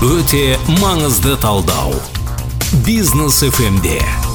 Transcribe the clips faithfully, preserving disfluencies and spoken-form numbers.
Өте маңызды талдау. Бизнес эф эмде.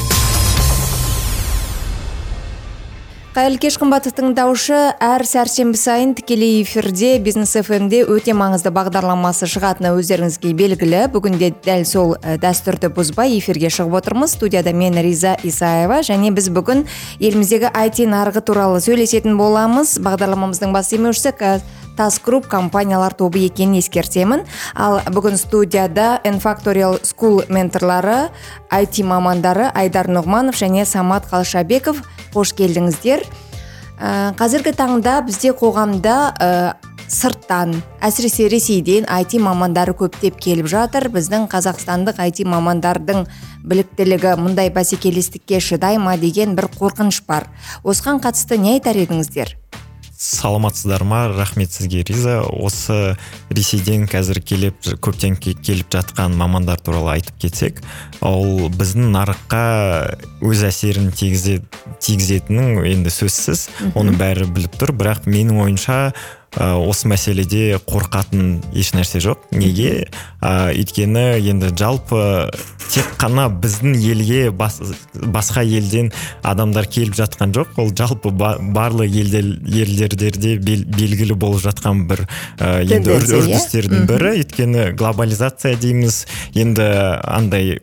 Қайырлы кеш қымбатты тыңдаушы, әр сәрсенбі сайын тікелей эфирде Бизнес эф эмде өте маңызды бағдарламасы шығатыны өздеріңізге белгілі. Бүгінде дәл сол дәстүрді бұзбай эфирге шығып отырмыз. Студияда мен Риза Исаева, және біз бүгін еліміздегі ай ти нарығы туралы сөйлесетін боламыз. Бағдарламамыздың бас демеушісі Тас Групп компаниялар тобы екенін ескертемін. Ал бүгін студияда N-Factorial School менторлары, ай ти мамандары Айдар Нұғманов және Самат Қалшабеков. Қош келдіңіздер. Қазіргі таңда бізде қоғамда сырттан, әсіресе Ресейден ай ти мамандары көптеп келіп жатыр. Біздің қазақстандық ай ти мамандардың біліктілігі мұндай бәсекелестікке шыдай ма деген бір қорқыныш бар. Осыған қатысты не айтар едіңіздер? Саламатсыздар ма? Рахмет сізге, Риза. Осы Ресейден қазір келіп, көптен келіп жатқан мамандар туралы айтып кетсек, ол біздің нарыққа өз әсерін тигізетінін енді сөзсіз, оны бәрі біліп тұр. Бірақ менің ойымша осы мәселеде қорқатын еш нәрсе жоқ. Неге? Өйткені енді жалпы тек қана біздің елге бас, басқа елден адамдар келіп жатқан жоқ. Ол жалпы барлық елдерде белгілі болып жатқан бір енді үрдістердің бірі. Өйткені глобализация дейміз. Енді андай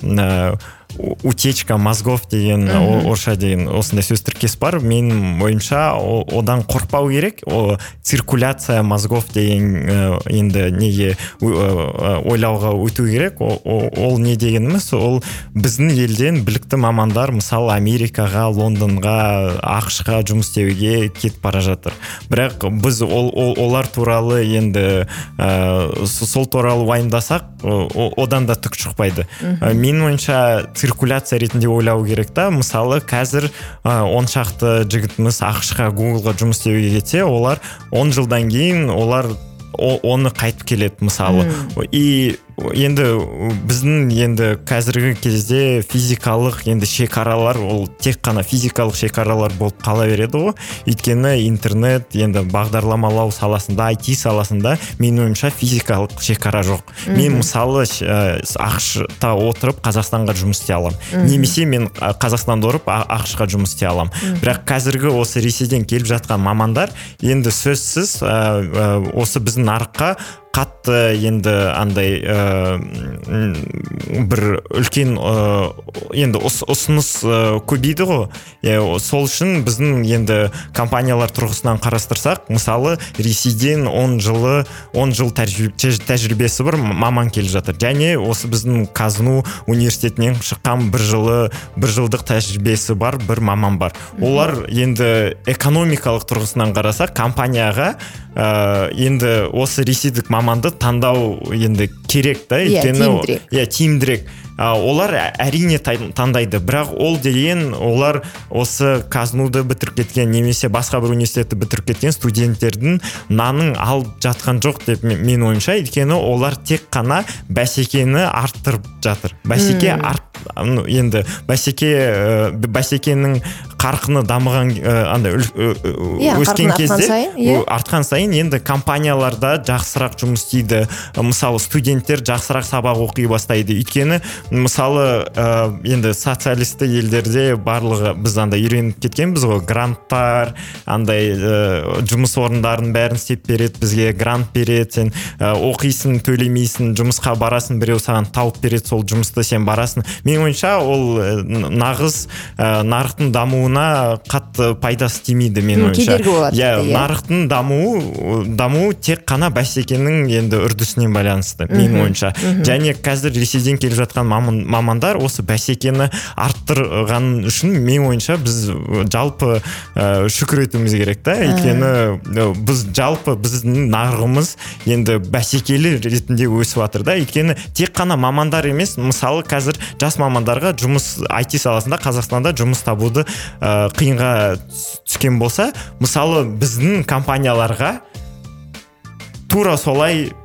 утечка мозгов деген, орысша деген осындай сөз тіркес бар. Менің ойымша одан қорқпау керек. О циркуляция мозгов деген енді неге ойлауға өту керек. Ол не дегеніміз? Ол біздің елден білікті мамандар, мысалы Америкаға, Лондонға, ақш-қа жұмыс істеуге кетіп бара жатыр. Бірақ біз олар туралы енді сол туралы уайымдасақ, одан да түк шықпайды. Менің ойымша циркуляция ретінде ойлау керек та. Мысалы, қазір он шақты жігітіміз ақш-қа, Гуглға жұмыс істеуге кетсе, олар он жылдан кейін олар оны қайтып келеді, мысалы. И енді біздің енді қазіргі кезде физикалық енді шекаралар, ол тек қана физикалық шекаралар болып қала береді ғой. Өйткені интернет, енді бағдарламалау саласында, ай ти саласында менің ойымша физикалық шекара жоқ. Мен мысалы ақш-та отырып Қазақстанға жұмыс істей аламын. Немесе мен Қазақстанда отырып ақш-қа жұмыс істей аламын. Бірақ қазіргі осы Ресейден келіп жатқан мамандар енді сөзсіз осы біздің нарыққа қатты енді андай бір үлкен енді ұсыныс көбейді ғой. Сол үшін біздің енді компаниялар тұрғысынан қарастырсақ, мысалы Ресейден он жылы он жыл тәжірибесі бір маман келіп жатыр. Және осы біздің Казну университетінен шыққан бір жылы бір жылдық тәжірибесі бар бір маман бар. Олар енді экономикалық тұрғысынан қарасақ, компанияға енді осы ресейдік маманды таңдау енді керек та. Иә, тиімдірек. Олар әрине таңдайды, бірақ ол деген олар осы Казнуды бітіріп кеткен немесе басқа бір университетті бітіріп кеткен студенттердің нанын алып жатқан жоқ деп мен ойымша. Өйткені олар тек қана бәсекені арттырып жатыр. Бәсеке арт енді бәсеке бәсекенің қарқыны дамыған андай өскен кезде артқан сайын енді компанияларда жақсырақ жұмыс істейді. Мысалы студенттер жақсырақ сабақ оқи бастайды. Өйткені мысалы енді социалисті елдерде барлығы біз андай үйреніп кеткенбіз ғой. Гранттар, андай жұмыс орындарын бәрін істеп береді, бізге грант береді, сен оқисың, төлемейсің, жұмысқа барасың, біреу саған тауып береді сол жұмысты, сен барасың. Мен ойымша ол нағыз нарықтың дамуына қатты пайдасы тимейді, мен ойымша. Нарықтың дамуы дамуы тек қана бәсекенің енді үрдісінен байланысты, мен ойымша. Және қазір Ресейден келіп жатқан мамандар осы бәсекені арттырған үшін мен ойымша біз жалпы шүкір етуіміз керек та. Өйткені біз жалпы біздің нарығымыз енді бәсекелі ретінде өсіп жатыр да. Өйткені тек қана мамандар емес, мысалы қазір жас мамандарға жұмыс ай ти саласында Қазақстанда жұмыс табуды қиынға түскен болса, мысалы біздің компанияларға тура солай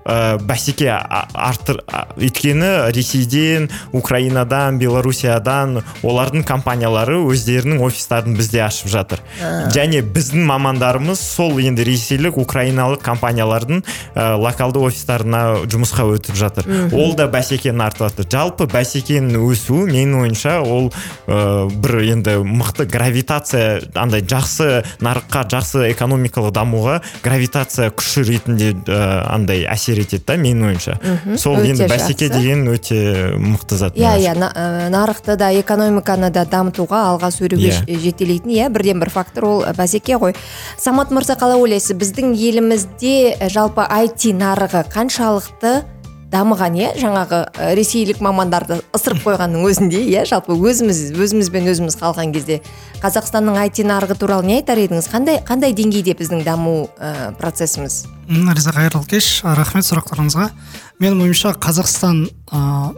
ә, бәсеке артыр, өйткені Ресейден, Украинадан, Белоруссиядан олардың компаниялары өздерінің офистарын бізде ашып жатыр. Және біздің мамандарымыз сол енді ресейлік, украиналық компаниялардың ә, локалды офистарына жұмысқа өтіп жатыр. Ол да бәсекені артып жатыр. Жалпы бәсекенің өсуі менің ойымша ол ә, бір енді мықты гравитация, андай жақсы нарыққа, жақсы экономикалық дамуға гравитация күші ретінде ә, андай әсер етеді да, менің ойымша. Сол енді бәсеке деген өте мықты зат. Иә, иә, нарықты да, экономиканы да дамытуға, алға сүруге жетелейтін, иә, бірден бір фактор ол бәсеке ғой. Самат мырза, қалай ойлайсыз, біздің елімізде жалпы ай ти нарығы қаншалықты дамыған, иә, жаңағы ресейлік мамандарды ысырып қойғанның өзінде, иә, жалпы өзіміз өзімізбен өзіміз қалған кезде Қазақстанның ай ти нарығы туралы не айтар едіңіз? Қандай қандай деңгейде біздің даму ә, процесіміз? Нариза, қайырлы кеш, рахмет сұрақтарыңызға. Менің ойымша Қазақстан ә,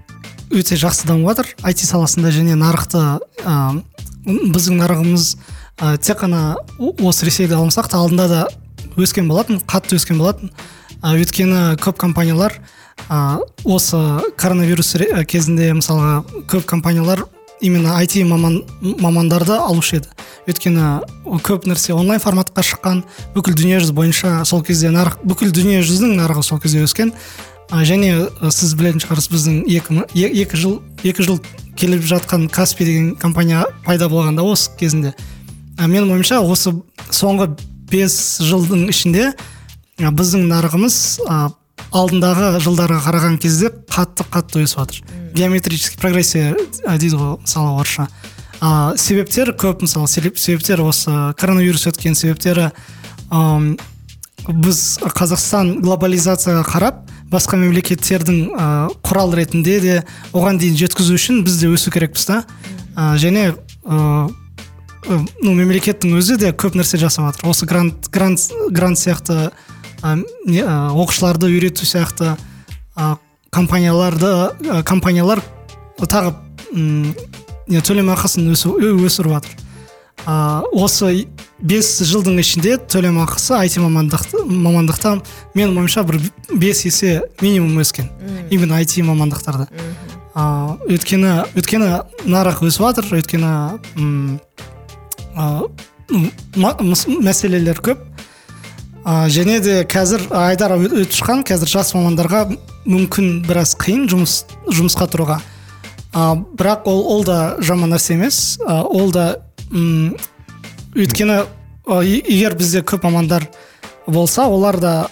өте жақсы дамып жатыр ай ти саласында, және нарықты ә, біздің нарығымыз ә, тек қана осы Ресейді алмасақ та алдында да өскен болатын, қатты өскен болатын. Ә, өйткені көп компаниялар ә, осы коронавирус кезінде мысалға көп компаниялар именно ай ти маман, мамандарды алушы еді. Өйткені көп нәрсе онлайн форматқа шыққан, бүкіл дүние жүзі бойынша сол кезде нарық, бүкіл дүние жүзінің нарығы сол кезде өскен. Ә, және сіз білетін шығарсыз, біздің екі, екі жыл екі жыл келіп жатқан Каспи деген компания пайда болғанда осы кезінде. Ә, менің ойымша осы соңғы бес жылдың ішінде ә, біздің нарығымыз ә, алдындағы жылдарға қараған кезде қатты-қатты өсіп жатыр. Геометрический прогрессия дейді ғой, мысалы орысша. А, себептер көп, мысалы себептер осы коронавирус өткен себептері, ә, біз Қазақстан глобализацияға қарап, басқа мемлекеттердің ә, құрал ретінде де оған дейін жеткізу үшін біз де өсу керекпіз да. Ә, және ә, ну, мемлекеттің өзі де көп нәрсе жасап жатыр. Осы грант, грант, грант сияқты ә, оқушыларды үйрету сияқты ә, компанияларды ә, компаниялар тағы төлем ақысын өсіріп жатыр. ә, осы бес жылдың ішінде төлем ақысы ай ти мамандықта, мамандықта менің ойымша бір бес есе минимум өскен. Именно ай ти мамандықтарда. ә, өйткені өйткені нарық өсіп жатыр, өйткені ә, мәселелер көп. ә, және де қазір айдар өтіп шыққан, қазір жас мамандарға мүмкін біраз қиын жұмыс жұмысқа тұруға. А, бірақ ол, ол да жаман нәрсе емес. А, ол да м, өйткені егер бізде көп мамандар болса, олар да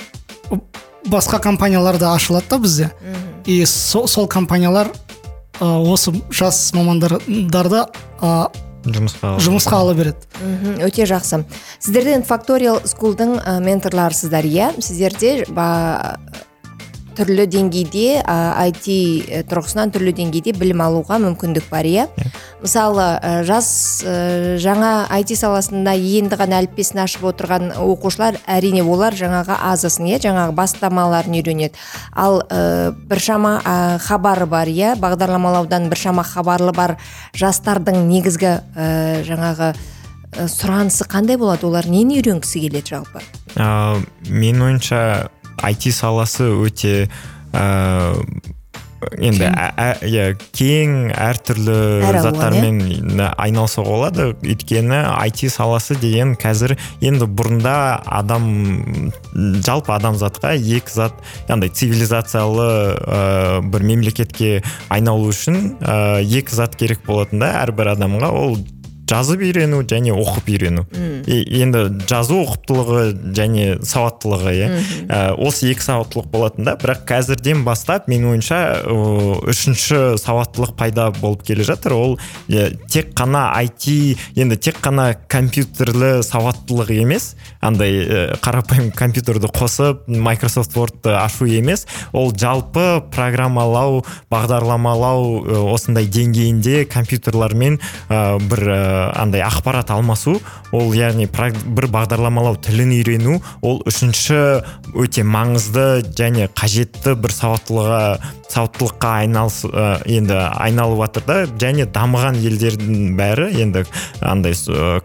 басқа компанияларда ашылады да бізде. И сол, сол компаниялар а, осы жас мамандарды а, жұмысқа, жұмысқа ала береді. Өте жақсы. Сіздерден Factorial School'дың менторларысыздар, иә? Сіздерде ба түрлі деңгейде, ай ти тұрғысынан түрлі деңгейде білім алуға мүмкіндік бар, иә? Мысалы, жас жаңа ай ти саласында енді ғана әліппесін ашып отырған оқушылар, әрине олар жаңағы азысын, иә, жаңағы бастамаларын үйренеді. Ал біршама хабары бар, иә, бағдарламалаудан біршама хабарлы бар жастардың негізгі жаңағы сұранысы қандай болады? Олар нені үйренгісі келеді жалпы? ә, Мен ойынша ай ти саласы өте ә, енді ә, кең, әртүрлі заттармен айналысуға болады. Өйткені ай ти саласы деген қазір енді бұрында адам, жалпы адамзатқа екі зат, яғни цивилизациялы ә, бір мемлекетке айналу үшін ә, екі зат керек болатын да әрбір адамға. Ол жазып үйрену және оқып үйрену. Енді жазу оқыптылығы және сауаттылығы, иә. Осы екі сауаттылық болатын да, бірақ қазірден бастап мен ойынша үшінші сауаттылық пайда болып келе жатыр. Ол тек қана ай ти, енді тек қана компьютерлі сауаттылық емес, андай қарапайым компьютерді қосып Microsoft Word'ды ашу емес, ол жалпы программалау, бағдарламалау осындай деңгейінде компьютерлармен бір андай ақпарат алмасу, ол яғни бір бағдарламалау тілін үйрену, ол үшінші өте маңызды және қажетті бір сауаттылыққа сауаттылыққа айналыс енді айналып жатыр да. Және дамыған елдердің бәрі енді андай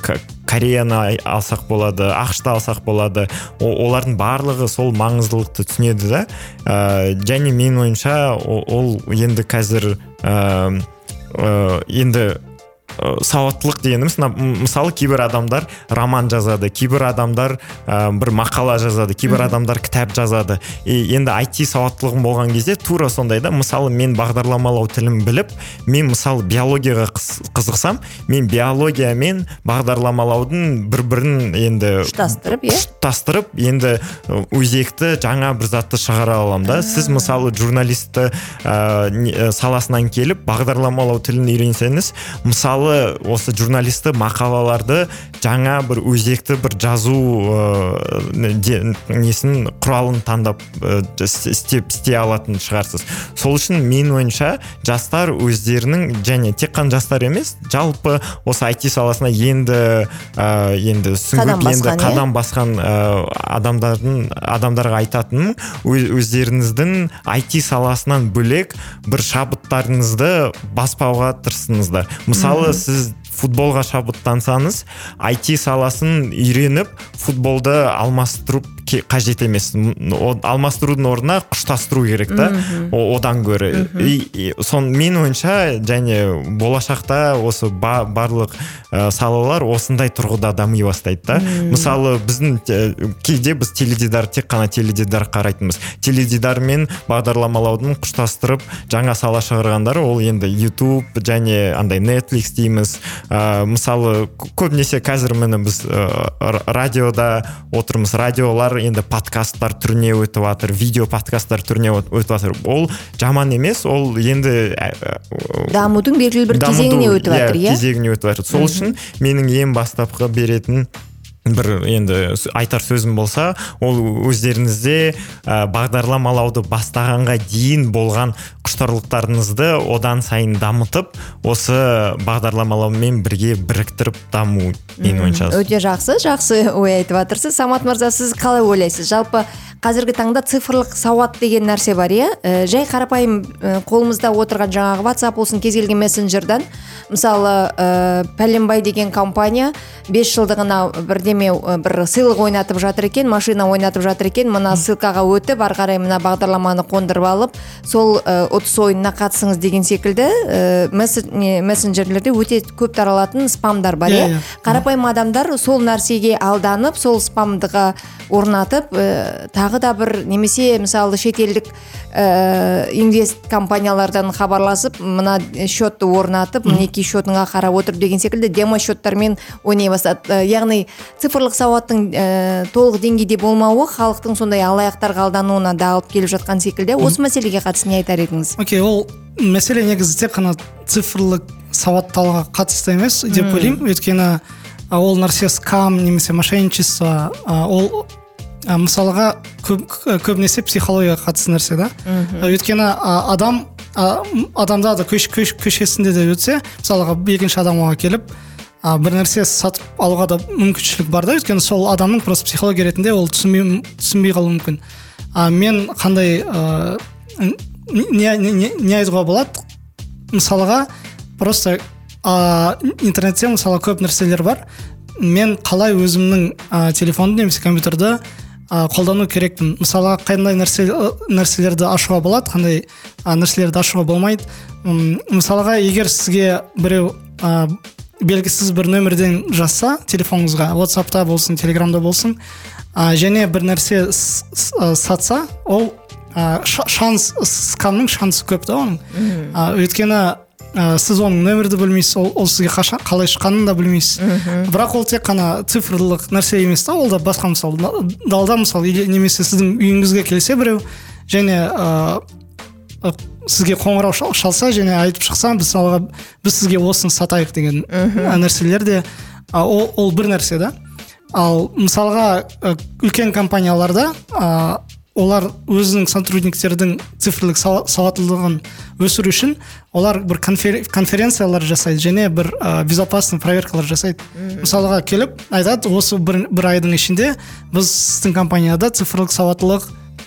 Кореяны алсақ болады, ақшты алсақ болады, олардың барлығы сол маңыздылықты түсінеді да. Және менің ойымша ол енді қазір енді сауаттылық дегеніміз, мысалы кейбір адамдар роман жазады, кейбір адамдар ә, бір мақала жазады, кейбір адамдар кітап жазады. И енді ай ти сауаттылығым болған кезде тура сондай да. Мысалы мен бағдарламалау тілін біліп, мен мысалы биологияға қызықсам, мен биология мен бағдарламалаудың бір-бірін енді ұштастырып, е? ұштастырып, енді өзекті жаңа бір затты шығара аламын да. Сіз мысалы журналисті ә, саласынан келіп бағдарламалау тілін үйренсеңіз, мысалы осы журналисті мақалаларды жаңа бір өзекті бір жазу ә, де, несін құралын таңдап ә, істеп істей алатын шығарсыз. Сол үшін мен ойымша жастар өздерінің, және тек қана жастар емес, жалпы осы ай ти саласына енді ә, енді сүңгіп енді қадам басқан ә, адамдардың адамдарға айтатыным, өздеріңіздің ай ти саласынан бөлек бір шабыттарыңызды баспауға тырысыңыздар. Мысалы сіз футболға шабыттансаңыз, ай ти саласын үйреніп, футболды алмастырып қажет емес. Алмастырудың орнына құштастыру керек та, одан гөрі. Сон мен ойынша, және болашақта осы барлық салалар осындай тұрғыда дами бастайды да. Мысалы біздің кейде біз теледидар, тек қана теледидар қарайтынбыз. Теледидар мен бағдарламалаудың құштастырып жаңа сала шығарғандары, ол енді YouTube және андай Netflix дейміз. Мысалы көбінесе қазір міне біз радиода отырмыз. Радиолар енді подкасттар түріне өтіп жатыр, видео подкасттар түріне өтіп жатыр. Ол жаман емес, ол енді дамудың белгілі бір кезеңіне өтіп жатыр, иә? Кезеңіне өтіп жатыр. Сол үшін менің ең бастапқы беретін бір енді айтар сөзім болса, ол өздеріңізде ә, бағдарламалауды бастағанға дейін болған құштарлықтарыңызды одан сайын дамытып, осы бағдарламалаумен бірге біріктіріп даму менің ойымша. Өте жақсы, жақсы ой айтып жатырсыз. Самат мырза, сіз қалай ойлайсыз? Жалпы қазіргі таңда цифрлық сауат деген нәрсе бар, иә? Ә, жай қарапайым ә, қолымызда отырған жаңағы WhatsApp болсын, кез келген мессенджердан, мысалы ә, пәленбай деген компания бес жылдығына бірдеме бір сыйлық ойнатып жатыр екен, машина ойнатып жатыр екен, мына ссылкаға өтіп, ары қарай мына бағдарламаны қондырып алып, сол ұтыс ойынына қатысыңыз деген секілді мессенджерлерде өте көп таралатын спамдар бар, иә? Қарапайым адамдар сол нәрсеге алданып, сол спамдыға орнатып, тағы да бір немесе мысалы шетелдік инвест компаниялардан хабарласып, мына счетты орнатып, мінекей счетыңа қарап отырып деген секілді демо счеттармен ойнай бастады. Яғни цифрлық сауаттың толық деңгейде болмауы халықтың сондай алаяқтарға алдануына да алып келіп жатқан секілді. Осы мәселеге қатысты не айтар едіңіз? Окей, ол мәселе негізі тек қана цифрлық сауаттылыққа қатысты емес деп ойлаймын. Өйткені ол нәрсе скам немесе мошенничество, ол мысалға көбінесе психологияға қатысты нәрсе да. Өйткені адам адамда да көшесінде де өтсе, мысалға екінші адамға келіп бір нәрсе сатып алуға да мүмкіншілік бар да. Өйткені сол адамның просто психология ретінде ол түсінбей, түсінбей қалуы мүмкін. Мен қандай не, не, не айтуға болады? Мысалға просто интернетте мысалы көп нәрселер бар. Мен қалай өзімнің телефонды немесе компьютерді қолдану керекпін. Мысалға қандай нәрсе, нәрселерді ашуға болады, қандай нәрселерді ашуға болмайды. Мысалға егер сізге біреу белгісіз бір нөмірден жазса телефоныңызға, WhatsApp'та болсын, Telegram'да болсын, және бір нәрсе сатса, ол шанс, скамның шансы көп та оның. Өйткені сіз оның нөмірді білмейсіз, ол, ол сізге қашан, қалай шыққанын да білмейсіз. Бірақ ол тек қана цифрлық нәрсе емес та, ол да басқа мысал. Далда мысал, немесе сіздің үйіңізге келсе біреу, және ә, сізге қоңырау шалса және айтып шықса, біз, біз сізге осыны сатайық деген нәрселер де, ол, ол бір нәрсе да. Ал мысалға үлкен компанияларда ә, олар өзінің сотрудниктердің цифрлық сауаттылығын өсіру үшін олар бір конференциялар жасайды және бір ә, безопасный проверкалар жасайды. Мысалға келіп айтады, осы бір, бір айдың ішінде біз сіздің компанияда цифрлық сауаттылық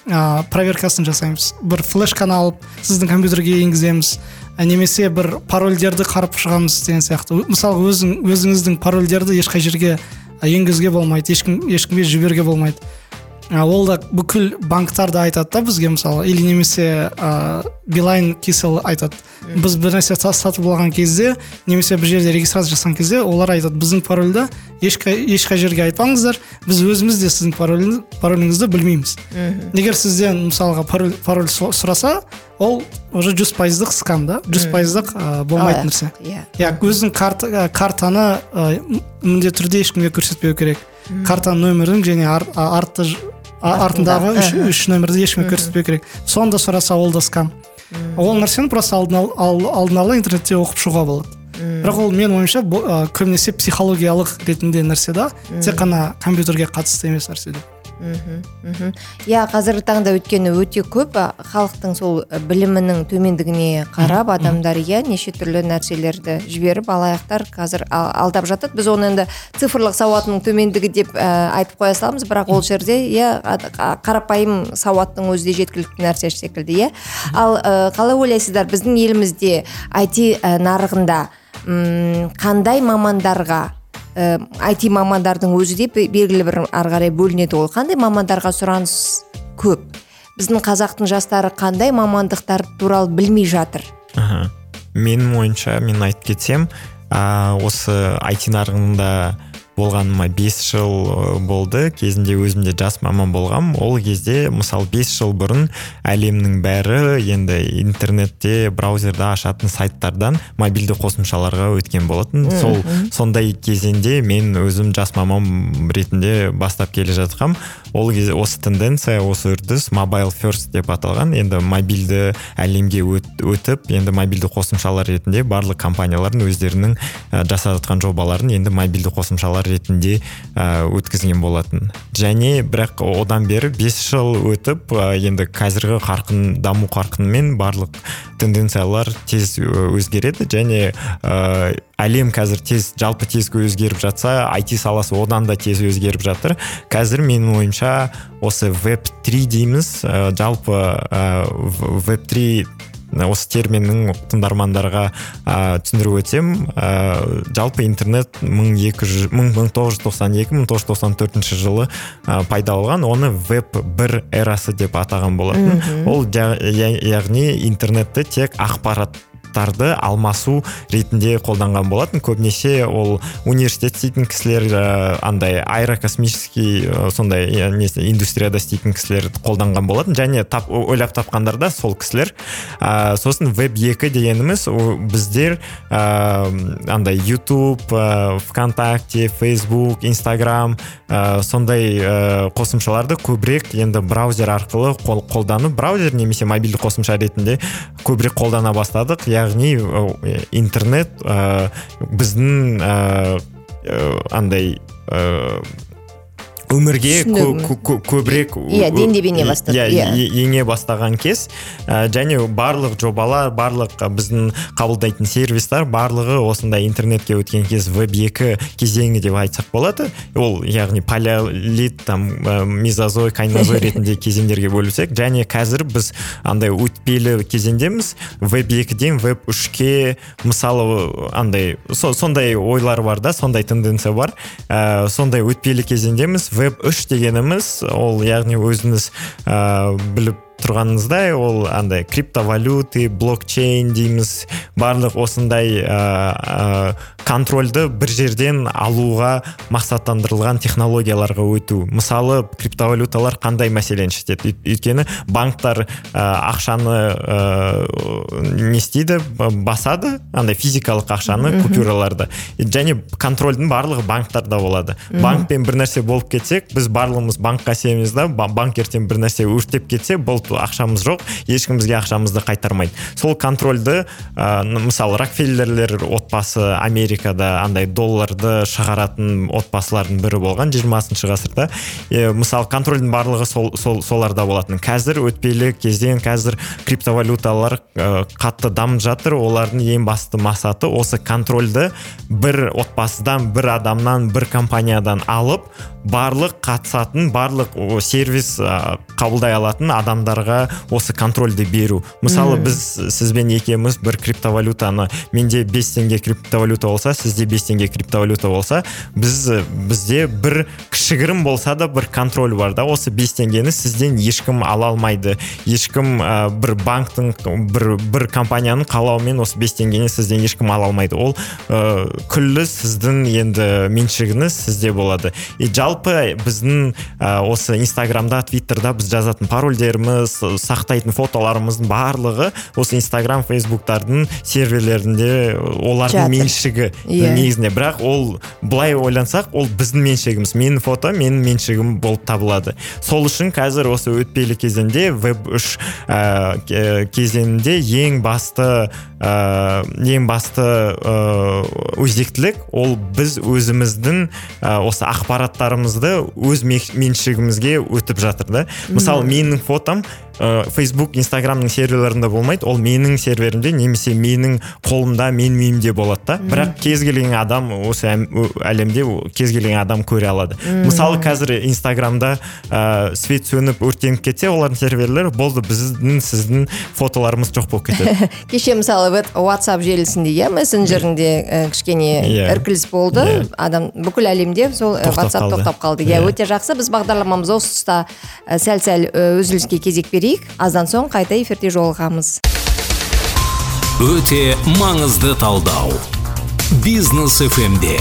ә, проверкасын жасаймыз. Бір флешканы алып сіздің компьютерге енгіземіз, немесе бір парольдерді қарап шығамыз деген сияқты. Мысалы өзің өзіңіздің парольдерді ешқай жерге енгізуге болмайды, ешкім ешкімге жіберуге болмайды. Ол да бүкіл банктар да айтады да бізге, мысалы, или немесе ә, Билайн Кисел айтады. Біз бір нәрсе сатып алған кезде, немесе бір жерде регистрация жасаған кезде, олар айтады, біздің парольді ешқай ешқай жерге айтпаңыздар, біз өзіміз де сіздің пароліңізді білмейміз. Егер сізден мысалға пароль, пароль сұраса, ол уже жүз пайыздық скам да, жүз пайыздық ә, болмайтын нәрсе. Иә, өзің карт, картаны ә, міндетті түрде ешкімге көрсетпеу керек. Картаның нөмірін және ар, артты артындағы үш, үш нөмірді ешкімге көрсетпеу керек. Сонда сұраса, ол да скам. Ол нәрсені просто алдын ала интернетте оқып шығуға болады. Бірақ ол мен ойымша көбінесе психологиялық ретінде нәрсе да, тек қана компьютерге қатысты емес нәрсе де. Иә, қазіргі таңда өткені өте көп халықтың сол білімінің төмендігіне қарап адамдар иә неше түрлі нәрселерді жіберіп алаяқтар қазір алдап жатады. Біз оны енді цифрлық сауатының төмендігі деп айтып қоя саламыз, бірақ ол жерде иә қарапайым сауаттың өзі де жеткілікті нәрсе секілді иә. Ал қалай ойлайсыздар, біздің елімізде ай ти нарығында қандай мамандарға ай ти мамандардың өзі де белгілі бір ары қарай бөлінеді ғой. Қандай мамандарға сұраныс көп? Біздің қазақтың жастары қандай мамандықтар туралы білмей жатыр? Аха. Менің ойымша, мен айтып кетсем, осы ай ти нарығында болғаныма бес жыл болды. Кезінде өзімде жас маман болғам. Ол кезде, мысалы, бес жыл бұрын әлемнің бәрі енді интернетте, браузерда ашатын сайттардан мобильді қосымшаларға өткен болатын. Сол сондай кезеңде мен өзім жас маман ретінде бастап келе жатқам. Ол кезде осы тенденция, осы үрдіс mobile first деп аталған. Енді мобильді әлемге өтіп, енді мобильді қосымшалар ретінде барлық компаниялардың өздерінің жасап жатқан жобаларын енді мобильді қосымшалар ретінде ә, өткізген болатын. Және бірақ одан бері бес жыл өтіп, ә, енді қазіргі қарқын, даму қарқынымен барлық тенденциялар тез өзгереді, және ә, әлем қазір тез, жалпы тез өзгеріп жатса, ай ти саласы одан да тез өзгеріп жатыр. Қазір менің ойымша осы веб три дейміз, ә, жалпы ә, веб три осы терминнің тыңдармандарға түсіндіріп өтсем, ә, жалпы интернет мың тоғыз жүз тоқсан екі - мың тоғыз жүз тоқсан төртінші жылы ә, пайда болған, оны веб бір эрасы деп атаған болатын. Ол яғни интернетті тек ақпарат тарды алмасу ретінде қолданған болатын. Көбінесе ол университет істейтін кісілер, андай аэрокосмический сондай индустрияда істейтін кісілер қолданған болатын, және тап, ойлап тапқандар да сол кісілер. Ә, сосын веб екі дегеніміз біздер ә, андай YouTube, ә, ВКонтакте, Facebook, Instagram ә, сондай ә, қосымшаларды көбірек енді браузер арқылы қол, қолданып, браузер немесе мобильді қосымша ретінде көбірек қолдана бастадық. Яғни интернет ә, біздің ә, андай ә, өмірге көбірек дендебене бастады. Ене бастаған кез, және барлық жобалар, барлық біздің қабылдайтын сервистар барлығы осындай интернетке өткен кез веб екі кезеңі деп айтсақ болады. Ол яғни палеолит, там мезозой, кайнозой ретінде кезеңдерге бөлсек, және қазір біз андай өтпелі кезеңдеміз. веб екіден веб үшке мысалы андай сондай ойлар бар да, сондай тенденция бар. Сондай өтпелі кезеңдеміз. веб үш дегеніміз, ол яғни өзіңіз ә, біліп тұрғаныңыздай, ол андай криптовалюты, блокчейн дейміз, барлық осындай ә, ә, контрольді бір жерден алуға мақсаттандырылған технологияларға өту. Мысалы, криптовалюталар қандай мәселені шешеді? Өйткені банктар ә, ақшаны ә, не істейді, басады, андай физикалық ақшаны, купюраларды. Және контрольдің барлығы банктарда болады. Банкпен бір нәрсе болып кетсек, біз барлығымыз банкқа сенеміз да, банк ертең бір нәрсе өртеп кетсе, бұл ақшамыз жоқ, ешкім бізге ақшамызды қайтармайды. Сол контрольді ә, мысалы Рокфеллерлер отбасы Америкада андай долларды шығаратын отбасылардың бірі болған жиырмасыншы ғасырда. Е, мысалы контрольдің барлығы сол, сол, соларда болатын. Қазір өтпелі кезден қазір криптовалюталар ә, қатты дамып жатыр. Олардың ең басты мақсаты осы контрольді бір отбасыдан, бір адамнан, бір компаниядан алып, барлық қатысатын, барлық сервис ә, қабылдай алатын адамдарға осы контрольді беру. Мысалы, біз сізбен екеуміз бір криптовалютаны, менде бес теңге криптовалюта болса, сізде бес теңге криптовалюта болса, біз бізде бір кішігірім болса да бір контроль бар да, осы бес теңгені сізден ешкім ала алмайды. Ешкім ә, бір банктың, бір, бір компанияның қалауымен осы бес теңгені сізден ешкім ала алмайды. Ол ә, күллі сіздің енді меншігіңіз сізде болады. И жалпы біздің ә, осы Инстаграмда, Твиттерда біз жазатын парольдеріміз, сақтайтын фотоларымыздың барлығы осы Инстаграм, Фейсбуктардың серверлерінде олардың меншігі yeah. негізінде. Бірақ ол былай ойлансақ, ол біздің меншігіміз. Менің фото, менің меншігім болып табылады. Сол үшін қазір осы өтпелі кезеңде веб үш ә, кезеңінде ең басты ә, ең басты ә, өзектілік ол біз өзіміздің ә, осы ақпараттарымызды өз меншігімізге өтіп жатыр да. Мысалы, менің фотом Facebook, Instagramның серверлерінде болмайды, ол менің серверімде немесе менің қолымда, мен миымде болады да. Бірақ кез келген адам осы әлемде кез келген адам көре алады. Мысалы, қазір Instagramда ә, свет сөніп өртеніп кетсе, олардың серверлері болды, біздің сіздің фотоларымыз жоқ болып кетеді. Кеше мысалы WhatsApp желісінде, иә, мессенджерінде ә, кішкене yeah. іркіліс болды. Yeah. Адам бүкіл әлемде сол WhatsApp тоқтап қалды. Иә, yeah. өте жақсы. Біз бағдарламамыз осы тұста ә, сәл-сәл үзіліске кезек берейік. Аздан соң қайта эфирде жолығамыз. Өте маңызды талдау. Бизнес эф эм-де.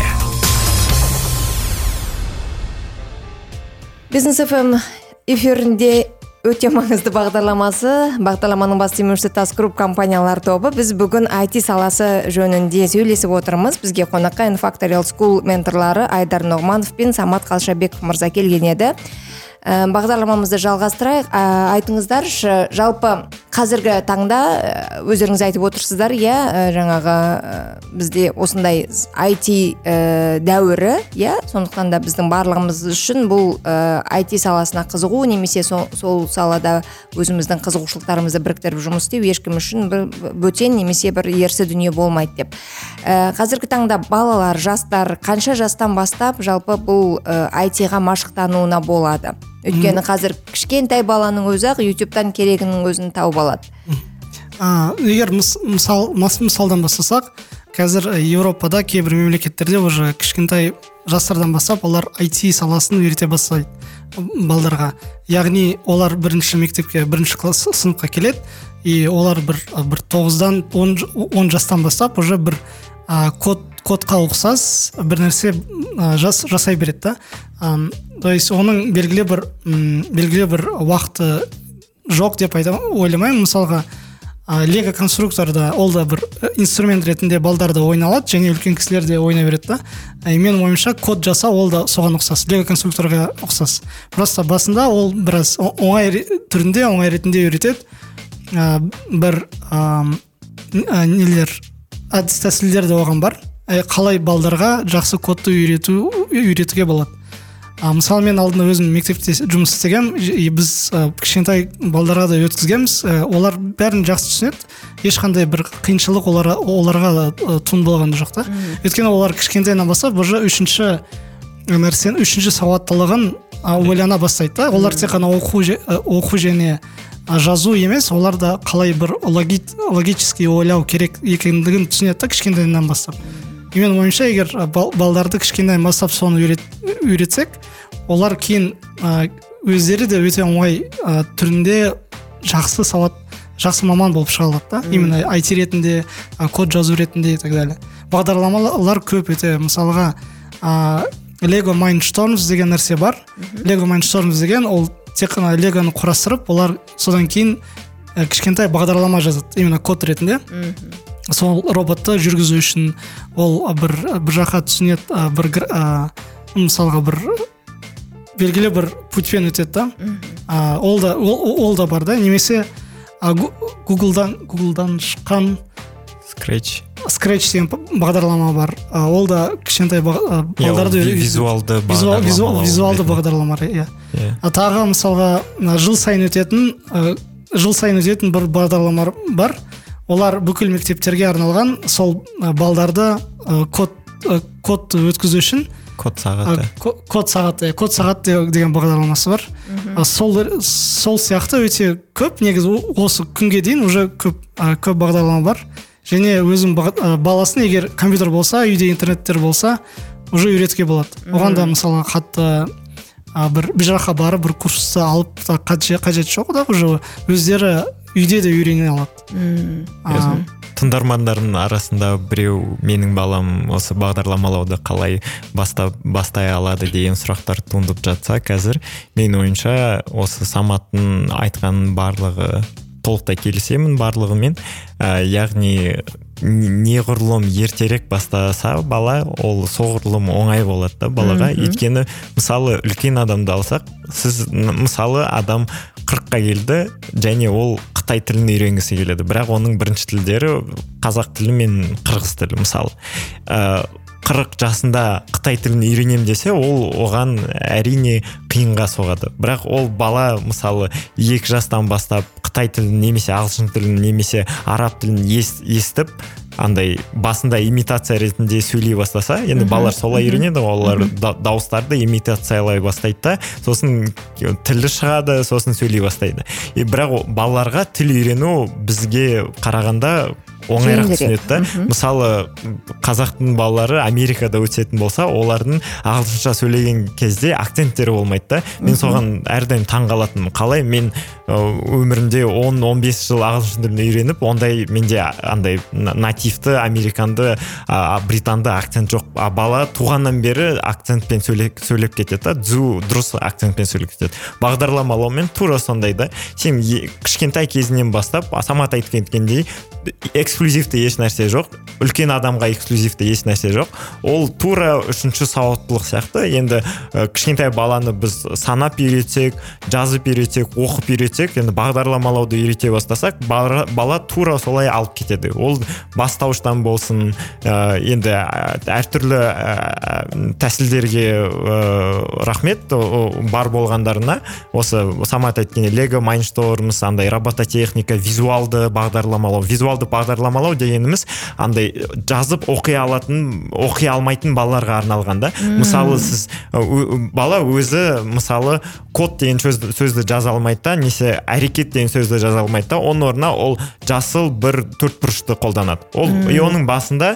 Бизнес эф эм эфирінде өте маңызды бағдарламасы, бағдарламаның бас демеушісі Task Group компаниялар тобы. Біз бүгін ай ти саласы жөнінде сөйлесіп отырмыз. Бізге қонаққа Infactorial School менторлары Айдар Нұғманов пен Самат Қалшабеков мырза келген еді. Бағдарламамызды жалғастырайық. Айтыңыздаршы, жалпы қазіргі таңда өздеріңіз айтып отырсыздар, иә, жаңағы бізде осындай ай ти дәуірі, иә, сондықтан да біздің барлығымыз үшін бұл ай ти саласына қызығу, немесе сол, сол салада өзіміздің қызығушылықтарымызды біріктіріп жұмыс істеу ешкім үшін бір бөтен немесе бір ерсі дүние болмайды деп. Қазіргі таңда балалар, жастар қанша жастан бастап жалпы бұл ай ти-ға машықтануына болады? Өйткені қазір кішкентай баланың өзі ақ ютубтан керегінің өзін тауып алады. А, егер мысал, мысалдан бастасақ, қазір Еуропада кейбір мемлекеттерде уже кішкентай жастардан бастап олар ай ти саласын үйрете бастайды балдарға. Яғни олар бірінші мектепке, бірінші класс сыныпқа келеді, и олар бір, бір тоғыздан он жастан бастап уже бір а, код кодқа ұқсас бір нәрсе а, жас, жасай береді да. А, то есть оның белгілі бір м, белгілі бір уақыты жоқ деп айтамын, ойламаймын. Мысалға лего конструкторда ол да бір инструмент ретінде балдарда ойналады, және үлкен кісілер де ойнай береді да. И менің ойымша код жасау ол да соған ұқсас, лего конструкторға ұқсас. Просто басында ол біраз оңай түрінде, оңай ретінде үйретеді. А, бір а, нелер әдіс тәсілдер де оған бар. Қалай балдарға жақсы кодты үйрету үйретуге болады. А, мысалы мен алдында өзім мектепте жұмыс істегем, біз а, кішкентай балдарға да өткізгенбіз. А, олар бәрін жақсы түсінеді, ешқандай бір қиыншылық оларға, оларға да туын болған жоқ та. Өйткені олар кішкентайынан бастап уже үшінші нәрсені, үшінші сауаттылығын ойлана бастайды да. Олар тек қана оқу, оқу және жазу емес, олар да қалай бір логи, логически ойлау керек екендігін түсінеді да кішкентайынан бастап. Мен ойымша, егер балдарды кішкентайдан бастап соны үйрет, үйретсек, олар кейін өздері де өте оңай түрінде жақсы сауат, жақсы маман болып шыға алады да. Именно ай ти ретінде, код жазу ретінде и так далее. Бағдарламалар көп өте. Мысалға Lego Mindstorms деген нәрсе бар. Lego Mindstorms деген ол тек қана легоны құрастырып, олар содан кейін кішкентай бағдарлама жазады, именно код ретінде. Сол роботты жүргізу үшін ол бір, бір жаққа түсінеді, бір, мысалға бір белгілі бір путьпен өтеді да. а, ол да ол, ол да бар да. Немесе а, Гуглдан Гуглдан шыққан Scratch Scratch деген бағдарлама бар. А, ол да кішкентай балдарды визуалды визуал, визуал, визуалды бағдарлама, иә. А тағы мысалға жыл сайын өтетін жыл сайын өтетін бір бағдарлама бар. Олар бүкіл мектептерге арналған сол балдарды код код өткізу үшін код сағаты код сағаты код сағаты деген бағдарламасы бар. Сол сол сияқты өте көп, негізі осы күнге дейін уже көп көп бағдарлама бар. Және өзім баласын егер компьютер болса, үйде интернеттер болса, уже үйретуге болады. Оған да мысалы қатты бір бір жаққа барып бір курсты алып та қажет жоқ да, уже өздері үйде де үйрене алады. Тыңдармандардың арасында біреу менің балам осы бағдарламалауды қалай бастап бастай алады деген сұрақтар туындап жатса, қазір менің ойымша осы Саматтың айтқан барлығы толықтай келісемін барлығымен. Ә, яғни неғұрлым ертерек бастаса бала, ол соғұрлым оңай болады да балаға. Өйткені мысалы үлкен адамды алсақ, сіз мысалы адам қырыққа келді және ол Қытай тілін үйренгісі келеді, бірақ оның бірінші тілдері қазақ тілі мен қырғыз тілі мысалы. Ә, қырық жасында Қытай тілін үйренем десе, ол оған әрине қиынға соғады. Бірақ ол бала мысалы екі жастан бастап Қытай тілін немесе ағылшын тілін немесе араб тілін естіп, андай басында имитация ретінде сөйлей бастаса, енді балалар солай үйренеді, олар дауыстарды имитациялай бастайды да, сосын тілі шығады, сосын сөйлей бастайды. И бірақ балаларға тіл үйрену бізге қарағанда оңайырақ түсінеді да. Мысалы қазақтың балалары Америкада өтетін болса, олардың ағылшынша сөйлеген кезде акценттері болмайды да. Мен соған әрдайым таңғалатынмын. Қалай мен өмірімде он он бес жыл ағылшын тілін үйреніп, ондай менде андай нативті американды, британды акцент жоқ. А бала туғаннан бері акцентпен сөйлеп сөйлеп кетеді да, дзу дұрыс акцентпен сөйлеп кетеді. Бағдарламалаумен тура сондай да. Сен кішкентай кезінен бастап, Самат айтқандай, эксклюзивті еш нәрсе жоқ, үлкен адамға эксклюзивті еш нәрсе жоқ. Ол тура үшінші сауаттылық сияқты. Енді кішкентай баланы біз санап үйретсек, жазып үйретсек, оқып үйретсек, енді бағдарламалауды үйрете бастасақ, бала тура солай алып кетеді. Ол бастауыштан болсын, енді әртүрлі тәсілдерге рахмет бар болғандарына. Осы Самат айтқан Lego Mindstorms, андай робототехника, визуалды бағдарламалау, визуалды бағдарламалау дегеніміз андай жазып оқи алатын, оқи алмайтын балаларға арналған да. Мысалы сіз бала өзі мысалы код деген сөзді, сөзді жаза алмайды да, несе әрекет деген сөзді жаза алмайды да, оның орнына ол жасыл бір төртбұрышты қолданады. Ол и оның басында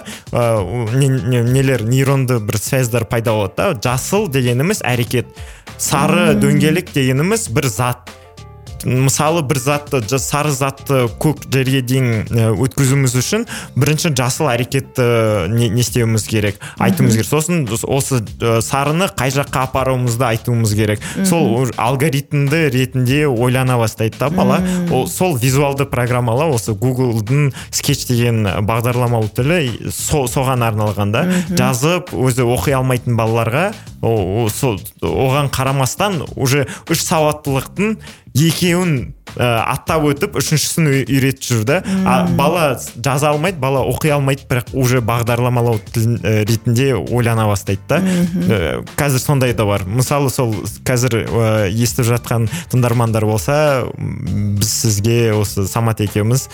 нелер нейронды бір связьдар пайда болады да. Жасыл дегеніміз әрекет, сары дөңгелек дегеніміз бір зат. Мысалы бір затты, сары затты көк жерге дейін өткізуіміз үшін бірінші жасыл әрекетті не, не істеуіміз керек, айтуымыз керек. Сосын осы сарыны қай жаққа апаруымызды айтуымыз керек. Сол алгоритмді ретінде ойлана бастайды да бала. Ол сол визуалды программалау, осы Google'дың Sketch деген бағдарламалау тілі со, соған арналған да. Жазып өзі оқи алмайтын балаларға о, о, оған қарамастан уже үш сауаттылықтың екеуін аттап өтіп, үшіншісін үйретіп жүрді. Бала жаза алмайды, бала оқи алмайды, бірақ уже бағдарламалау тілін ретінде ойлана бастайды да. Қазір сондай да бар. Мысалы сол қазір естіп жатқан тыңдармандар болса, біз сізге осы Самат екеуміз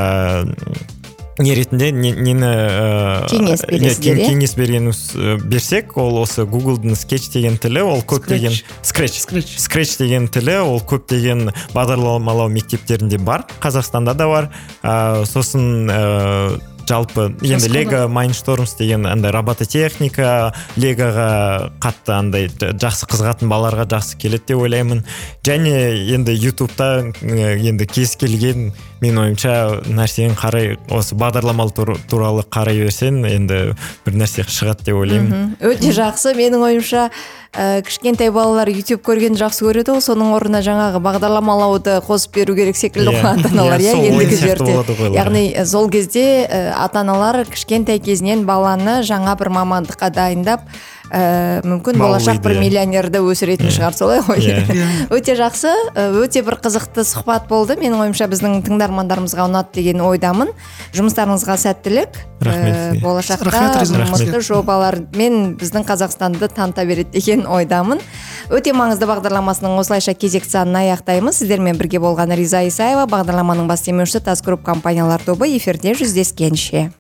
не ретінде нені кеңес бересіздер, кеңес бергеніміз берсек, ол осы Google'дың Sketch деген тілі, ол көптеген Scratch Scratch деген тілі, ол көптеген бағдарламалау мектептерінде бар, Қазақстанда да бар. Сосын жалпы енді Lego Mindstorms деген андай робототехника, Легоға қатты андай жақсы қызығатын балаларға жақсы келеді деп ойлаймын. Және енді YouTube'та енді кез келген мен ойымша нәрсені қарай, осы бағдарламалы туралы қарай берсең, енді бір нәрсе шығады деп ойлаймын. Өте жақсы. Менің ойымша кішкентай балалар YouTube көргенді жақсы көреді, ол соның орнына жаңағы бағдарламалауды қосып беру керек секілді ата-аналар, иә, ендігі жерде. Яғни сол кезде ата-аналар кішкентай кезінен баланы жаңа бір мамандыққа дайындап, ә, мүмкін Малый болашақ бір идея. миллионерді өсіретін шығар, солай ғой. Иә. Өте жақсы, ә, өте бір қызықты сұхбат болды. Менің ойымша біздің тыңдармандарымызға ұнады деген ойдамын. Жұмыстарыңызға сәттілік. Рахмет Ә, сізге. болашақта Рахмет, Риза. мықты жобалармен біздің Қазақстанды таныта береді деген ойдамын. Өте маңызды бағдарламасының осылайша кезекті санын аяқтаймыз. Сіздермен бірге болған Риза Исаева, бағдарламаның бас демеушісі Тас Групп компаниялар тобы, эфирде жүздескенше.